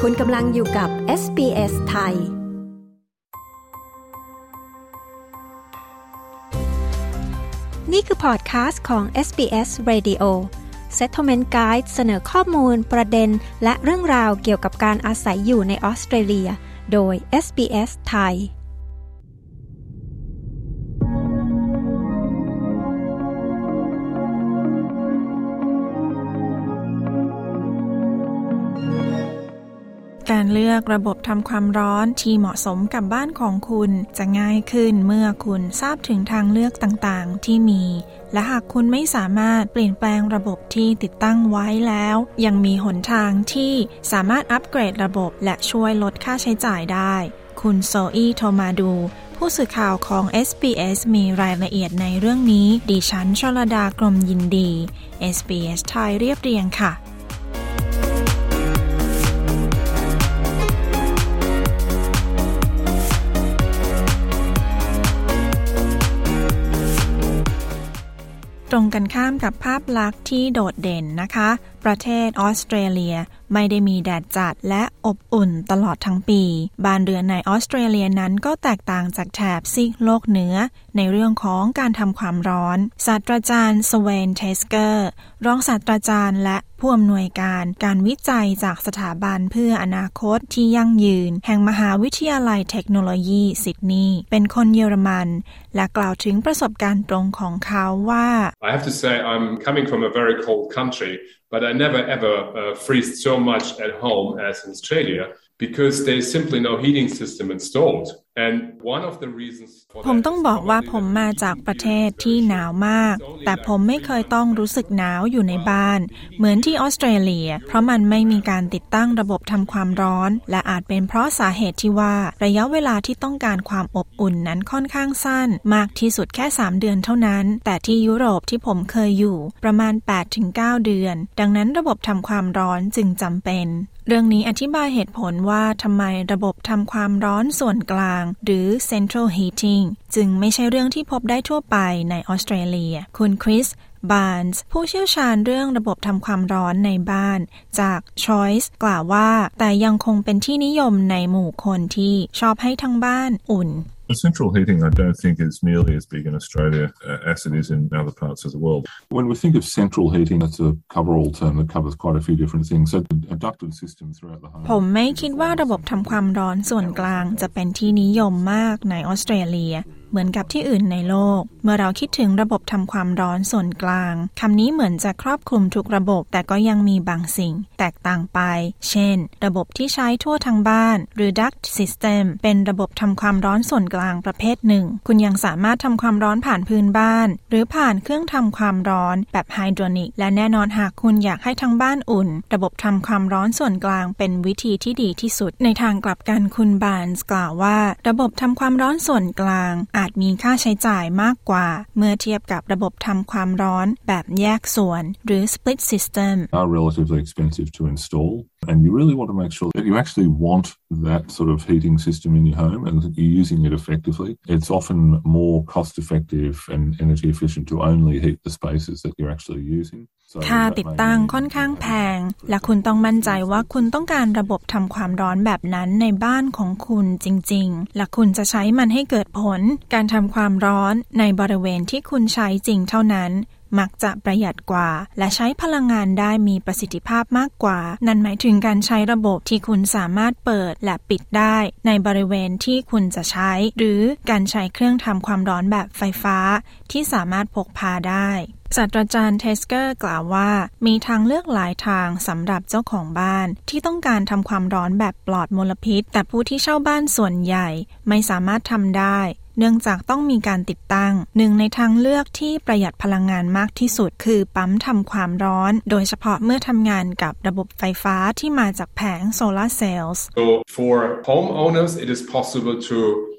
คุณกำลังอยู่กับ SBS ไทยนี่คือพอดคาสต์ของ SBS Radio Settlement Guide เสนอข้อมูลประเด็นและเรื่องราวเกี่ยวกับการอาศัยอยู่ในออสเตรเลียโดย SBS ไทยการเลือกระบบทำความร้อนที่เหมาะสมกับบ้านของคุณจะง่ายขึ้นเมื่อคุณทราบถึงทางเลือกต่างๆที่มีและหากคุณไม่สามารถเปลี่ยนแปลงระบบที่ติดตั้งไว้แล้วยังมีหนทางที่สามารถอัปเกรดระบบและช่วยลดค่าใช้จ่ายได้คุณโซอี้โทมาดูผู้สื่อข่าวของ SBS มีรายละเอียดในเรื่องนี้ดิฉันชลดากรมยินดี SBS ไทยเรียบเรียงค่ะตรงกันข้ามกับภาพลักษณ์ที่โดดเด่นนะคะประเทศออสเตรเลียไม่ได้มีแดดจัดและอบอุ่นตลอดทั้งปีบ้านเรือนในออสเตรเลียนั้นก็แตกต่างจากแถบซีกโลกเหนือในเรื่องของการทำความร้อนศาสตราจารย์สเวนเทสเกอร์รองศาสตราจารย์และผู้อำนวยการวิจัยจากสถาบันเพื่ออนาคตที่ยั่งยืนแห่งมหาวิทยาลัยเทคโนโลยีซิดนีย์เป็นคนเยอรมันและกล่าวถึงประสบการณ์ตรงของเขาว่า I have to say I'm coming from a very cold country.But I never ever freeze so much at home as in Australia because there's simply no heating system installed. And one of the reasons for that ผมต้องบอกว่าผมมาจากประเทศที่หนาวมากแต่ผมไม่เคยต้องรู้สึกหนาวอยู่ในบ้านเหมือนที่ออสเตรเลียเพราะมันไม่มีการติดตั้งระบบทำความร้อนและอาจเป็นเพราะสาเหตุที่ว่าระยะเวลาที่ต้องการความอบอุ่นนั้นค่อนข้างสั้นมากที่สุดแค่3เดือนเท่านั้นแต่ที่ยุโรปที่ผมเคยอยู่ประมาณ 8-9 เดือนดังนั้นระบบทำความร้อนจึงจำเป็นเรื่องนี้อธิบายเหตุผลว่าทำไมระบบทำความร้อนส่วนกลางหรือ Central Heating จึงไม่ใช่เรื่องที่พบได้ทั่วไปในออสเตรเลียคุณคริสบาร์นส์ผู้เชี่ยวชาญเรื่องระบบทำความร้อนในบ้านจาก Choice กล่าวว่าแต่ยังคงเป็นที่นิยมในหมู่คนที่ชอบให้ทั้งบ้านอุ่น Central heating, I don't think, is nearly as big in Australia as it is in other parts of the world. When we think of central heating, that's a cover-all term that covers quite a few different things. So a ducted system throughout the home. ผมไม่คิดว่าระบบทำความร้อนส่วนกลางจะเป็นที่นิยมมากในออสเตรเลียเหมือนกับที่อื่นในโลกเมื่อเราคิดถึงระบบทำความร้อนส่วนกลางคำนี้เหมือนจะครอบคลุมทุกระบบแต่ก็ยังมีบางสิ่งแตกต่างไปเช่นระบบที่ใช้ทั่วทั้งบ้านหรือ duct system เป็นระบบทำความร้อนส่วนกลางประเภทหนึ่งคุณยังสามารถทำความร้อนผ่านพื้นบ้านหรือผ่านเครื่องทำความร้อนแบบไฮดรอนิกและแน่นอนหากคุณอยากให้ทั้งบ้านอุ่นระบบทำความร้อนส่วนกลางเป็นวิธีที่ดีที่สุดในทางกลับกันคุณบาร์นส์กล่าวว่าระบบทำความร้อนส่วนกลางอาจมีค่าใช้จ่ายมากกว่าเมื่อเทียบกับระบบทำความร้อนแบบแยกส่วนหรือ split system are relatively expensive to install and you really want to make sure that you actually want that sort of heating system in your home and that you're using it effectively. It's often more cost effective and energy efficient to only heat the spaces that you're actually using. ค่าติดตั้งค่อนข้างแพงและคุณต้องมั่นใจว่าคุณต้องการระบบทำความร้อนแบบนั้นในบ้านของคุณจริงๆและคุณจะใช้มันให้เกิดผลการทำความร้อนในบริเวณที่คุณใช้จริงเท่านั้นมักจะประหยัดกว่าและใช้พลังงานได้มีประสิทธิภาพมากกว่านั่นหมายถึงการใช้ระบบที่คุณสามารถเปิดและปิดได้ในบริเวณที่คุณจะใช้หรือการใช้เครื่องทำความร้อนแบบไฟฟ้าที่สามารถพกพาได้ศาสตราจารย์เทสเกอร์กล่าวว่ามีทางเลือกหลายทางสำหรับเจ้าของบ้านที่ต้องการทำความร้อนแบบปลอดมลพิษแต่ผู้ที่เช่าบ้านส่วนใหญ่ไม่สามารถทำได้เนื่องจากต้องมีการติดตั้งหนึ่งในทางเลือกที่ประหยัดพลังงานมากที่สุดคือปั๊มทำความร้อนโดยเฉพาะเมื่อทำงานกับระบบไฟฟ้าที่มาจากแผงโซลาร์เซลล์ So for homeowners it is possible to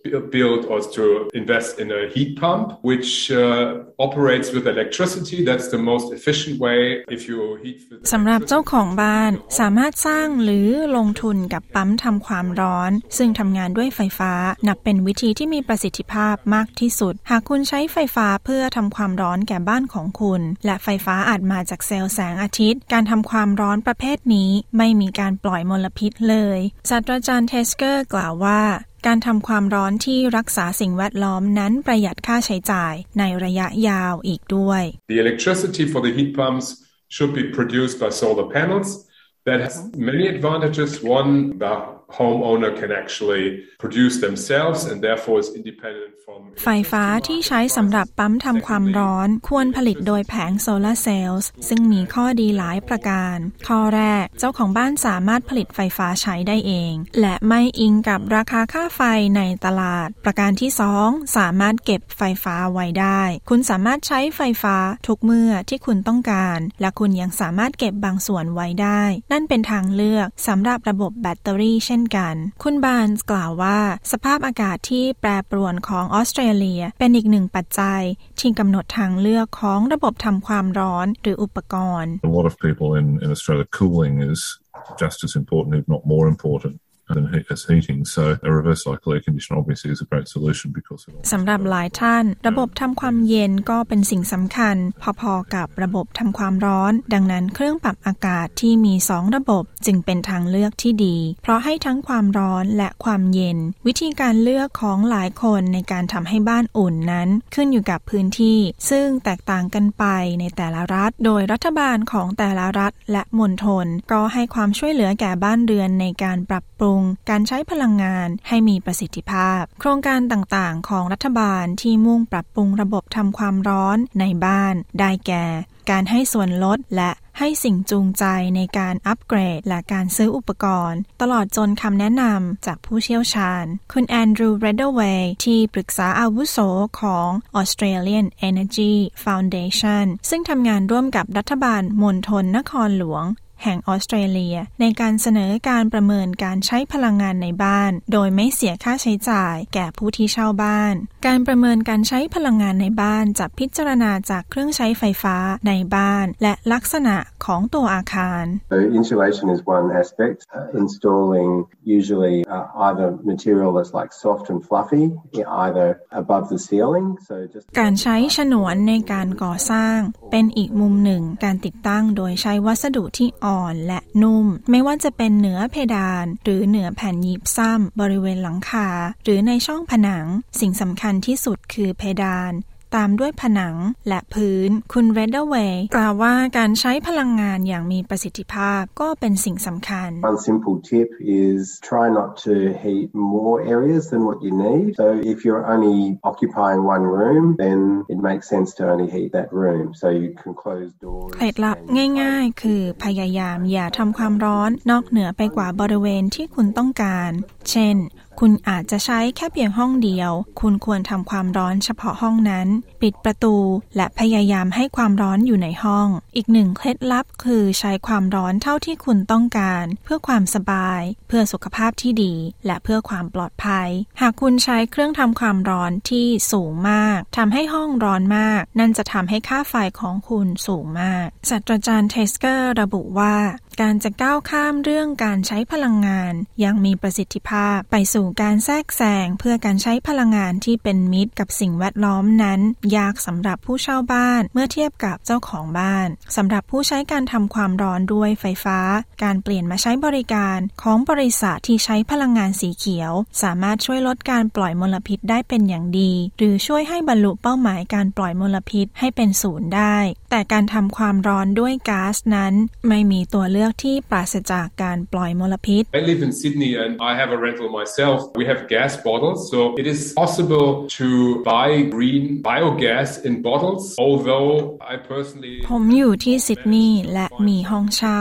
build or to invest in a heat pump, which operates with electricity. That's the most efficient way if you heat. สำหรับเจ้าของบ้านสามารถสร้างหรือลงทุนกับปั๊มทำความร้อนซึ่งทำงานด้วยไฟฟ้านับเป็นวิธีที่มีประสิทธิภาพมากที่สุดหากคุณใช้ไฟฟ้าเพื่อทำความร้อนแก่บ้านของคุณและไฟฟ้าอาจมาจากเซลล์แสงอาทิตย์การทำความร้อนประเภทนี้ไม่มีการปล่อยมลพิษเลยศาสตราจารย์เทสเกอร์กล่าวว่าการทำความร้อนที่รักษาสิ่งแวดล้อมนั้นประหยัดค่าใช้จ่ายในระยะยาวอีกด้วย The electricity for the heat pumps should be produced by solar panels. That has many advantages. One, the homeowner can actually produce themselves and therefore is independent from ไฟฟ้าที่ใช้สำหรับปั๊มทำความร้อนควรผลิตโดยแผงโซลาร์เซลล์ซึ่งมีข้อดีหลายประการข้อแรกเจ้าของบ้านสามารถผลิตไฟฟ้าใช้ได้เองและไม่อิงกับราคาค่าไฟในตลาดประการที่2สามารถเก็บไฟฟ้าไว้ได้คุณสามารถใช้ไฟฟ้าทุกเมื่อที่คุณต้องการและคุณยังสามารถเก็บบางส่วนไว้ได้นั่นเป็นทางเลือกสำหรับระบบแบตเตอรี่เช่นกันคุณบาร์นส์กล่าวว่าสภาพอากาศที่แปรปรวนของออสเตรเลียเป็นอีกหนึ่งปัจจัยที่กำหนดทางเลือกของระบบทำความร้อนหรืออุปกรณ์ A lot of people in Australia cooling is just as important if not more important as heating so a reverse cycle air conditioner obviously is a great solution because สำหรับหลายท่านระบบทำความเย็นก็เป็นสิ่งสำคัญพอๆกับระบบทำความร้อนดังนั้นเครื่องปรับอากาศที่มี2ระบบจึงเป็นทางเลือกที่ดีเพราะให้ทั้งความร้อนและความเย็นวิธีการเลือกของหลายคนในการทำให้บ้านอุ่นนั้นขึ้นอยู่กับพื้นที่ซึ่งแตกต่างกันไปในแต่ละรัฐโดยรัฐบาลของแต่ละรัฐและมณฑลก็ให้ความช่วยเหลือแก่บ้านเรือนในการปรับปรุงการใช้พลังงานให้มีประสิทธิภาพโครงการต่างๆของรัฐบาลที่มุ่งปรับปรุงระบบทำความร้อนในบ้านได้แก่การให้ส่วนลดและให้สิ่งจูงใจในการอัปเกรดและการซื้ออุปกรณ์ตลอดจนคำแนะนำจากผู้เชี่ยวชาญคุณแอนดรูว์ เรดเดอร์เวย์ที่ปรึกษาอาวุโสของ Australian Energy Foundation ซึ่งทำงานร่วมกับรัฐบาลมณฑลนครหลวงแห่งออสเตรเลียในการเสนอการประเมินการใช้พลังงานในบ้านโดยไม่เสียค่าใช้จ่ายแก่ผู้ที่เช่าบ้านการประเมินการใช้พลังงานในบ้านจะพิจารณาจากเครื่องใช้ไฟฟ้าในบ้านและลักษณะของตัวอาคาร So insulation is one aspect. Installing usually either material that's like soft and fluffy either above the ceiling. So just การใช้ฉนวนในการก่อสร้างเป็นอีกมุมหนึ่งการติดตั้งโดยใช้วัสดุที่อ่อนและนุ่มไม่ว่าจะเป็นเหนือเพดานหรือเหนือแผ่นยิปซัมบริเวณหลังคาหรือในช่องผนังสิ่งสำคัญที่สุดคือเพดานตามด้วยผนังและพื้นคุณเรดเดอร์เวย์กล่าวว่าการใช้พลังงานอย่างมีประสิทธิภาพก็เป็นสิ่งสำคัญ One simple tip is try not to heat more areas than what you need. So if you're only occupying one room, then it makes sense to only heat that room. So you can close doors. เคล็ดลับง่ายๆคือพยายามอย่าทำความร้อนนอกเหนือไปกว่าบริเวณที่คุณต้องการเช่นคุณอาจจะใช้แค่เพียงห้องเดียวคุณควรทำความร้อนเฉพาะห้องนั้นปิดประตูและพยายามให้ความร้อนอยู่ในห้องอีกหนึ่งเคล็ดลับคือใช้ความร้อนเท่าที่คุณต้องการเพื่อความสบายเพื่อสุขภาพที่ดีและเพื่อความปลอดภัยหากคุณใช้เครื่องทำความร้อนที่สูงมากทำให้ห้องร้อนมากนั่นจะทำให้ค่าไฟของคุณสูงมากศาสตราจารย์เทสเกอร์ระบุว่าการจะก้าวข้ามเรื่องการใช้พลังงานอย่างมีประสิทธิภาพไปสู่การแทรกแซงเพื่อการใช้พลังงานที่เป็นมิตรกับสิ่งแวดล้อมนั้นยากสำหรับผู้เช่าบ้านเมื่อเทียบกับเจ้าของบ้านสำหรับผู้ใช้การทำความร้อนด้วยไฟฟ้าการเปลี่ยนมาใช้บริการของบริษัทที่ใช้พลังงานสีเขียวสามารถช่วยลดการปล่อยมลพิษได้เป็นอย่างดีหรือช่วยให้บรรลุเป้าหมายการปล่อยมลพิษให้เป็นศูนย์ได้แต่การทำความร้อนด้วยก๊าซนั้นไม่มีตัวเลือกที่ปราศจากการปล่อยมลพิษ I live in Sydney and I have a rental myself. We have gas bottles, so it is possible to buy green biogas in bottles, although I personally ผมอยู่ที่ซิดนีย์และมีห้องเช่า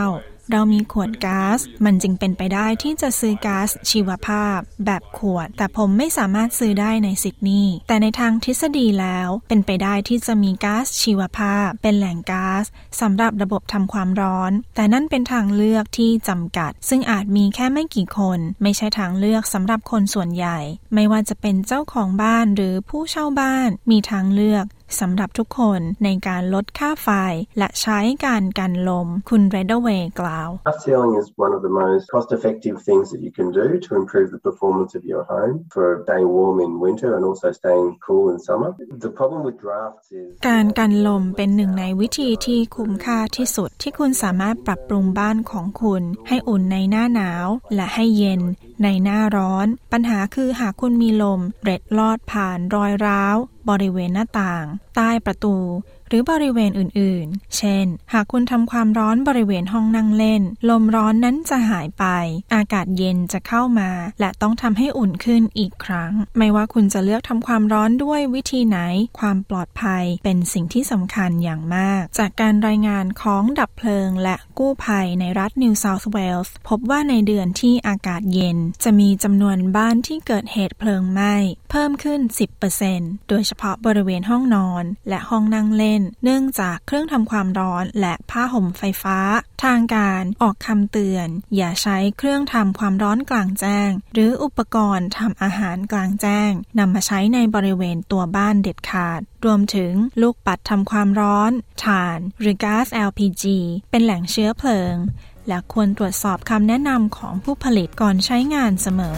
เรามีขวดก๊าซมันจึงเป็นไปได้ที่จะซื้อก๊าซชีวภาพแบบขวดแต่ผมไม่สามารถซื้อได้ในซิดนีย์แต่ในทางทฤษฎีแล้วเป็นไปได้ที่จะมีก๊าซชีวภาพเป็นแหล่งก๊าซสำหรับระบบทำความร้อนแต่นั่นเป็นทางเลือกที่จำกัดซึ่งอาจมีแค่ไม่กี่คนไม่ใช่ทางเลือกสำหรับคนส่วนใหญ่ไม่ว่าจะเป็นเจ้าของบ้านหรือผู้เช่าบ้านมีทางเลือกสำหรับทุกคนในการลดค่าไฟและใช้การกันลมคุณเรดเวย์กล่าว Glass ceiling is one of the most cost-effective things that you can do to improve the performance of your home for staying warm in winter and also staying cool in summer. The problem with drafts is การกันลมเป็นหนึ่งในวิธีที่คุ้มค่าที่สุดที่คุณสามารถปรับปรุงบ้านของคุณให้อุ่นในหน้าหนาวและให้เย็นในหน้าร้อนปัญหาคือหากคุณมีลมเล็ดลอดผ่านรอยร้าวบริเวณหน้าต่างใต้ประตูหรือบริเวณอื่นๆเช่นหากคุณทำความร้อนบริเวณห้องนั่งเล่นลมร้อนนั้นจะหายไปอากาศเย็นจะเข้ามาและต้องทำให้อุ่นขึ้นอีกครั้งไม่ว่าคุณจะเลือกทำความร้อนด้วยวิธีไหนความปลอดภัยเป็นสิ่งที่สำคัญอย่างมากจากการรายงานของดับเพลิงและกู้ภัยในรัฐนิวเซาท์เวลส์พบว่าในเดือนที่อากาศเย็นจะมีจำนวนบ้านที่เกิดเหตุเพลิงไหม้เพิ่มขึ้น 10% โดยเฉพาะบริเวณห้องนอนและห้องนั่งเล่นเนื่องจากเครื่องทำความร้อนและผ้าห่มไฟฟ้าทางการออกคำเตือนอย่าใช้เครื่องทำความร้อนกลางแจ้งหรืออุปกรณ์ทำอาหารกลางแจ้งนำมาใช้ในบริเวณตัวบ้านเด็ดขาดรวมถึงลูกปัดทำความร้อนถ่านหรือก๊าซ LPG เป็นแหล่งเชื้อเพลิงและควรตรวจสอบคำแนะนำของผู้ผลิตก่อนใช้งานเสมอ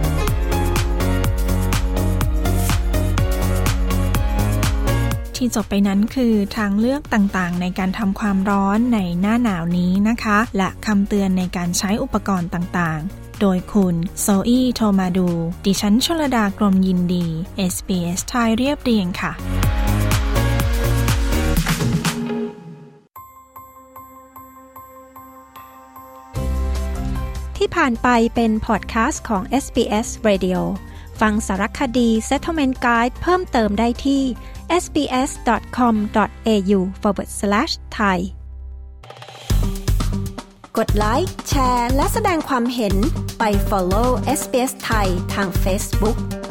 ที่จบไปนั้นคือทางเลือกต่างๆในการทำความร้อนในหน้าหนาวนี้นะคะและคำเตือนในการใช้อุปกรณ์ต่างๆโดยคุณโซอี้โทมาดูดิฉันชลดากรมยินดี SBS ไทยเรียบเรียงค่ะที่ผ่านไปเป็นพอดคาสต์ของ SBS Radio ฟังสารคดี Settlement Guide เพิ่มเติมได้ที่sbs.com.au/thai กดไลค์แชร์และแสดงความเห็นไป follow SBS ไทยทาง Facebook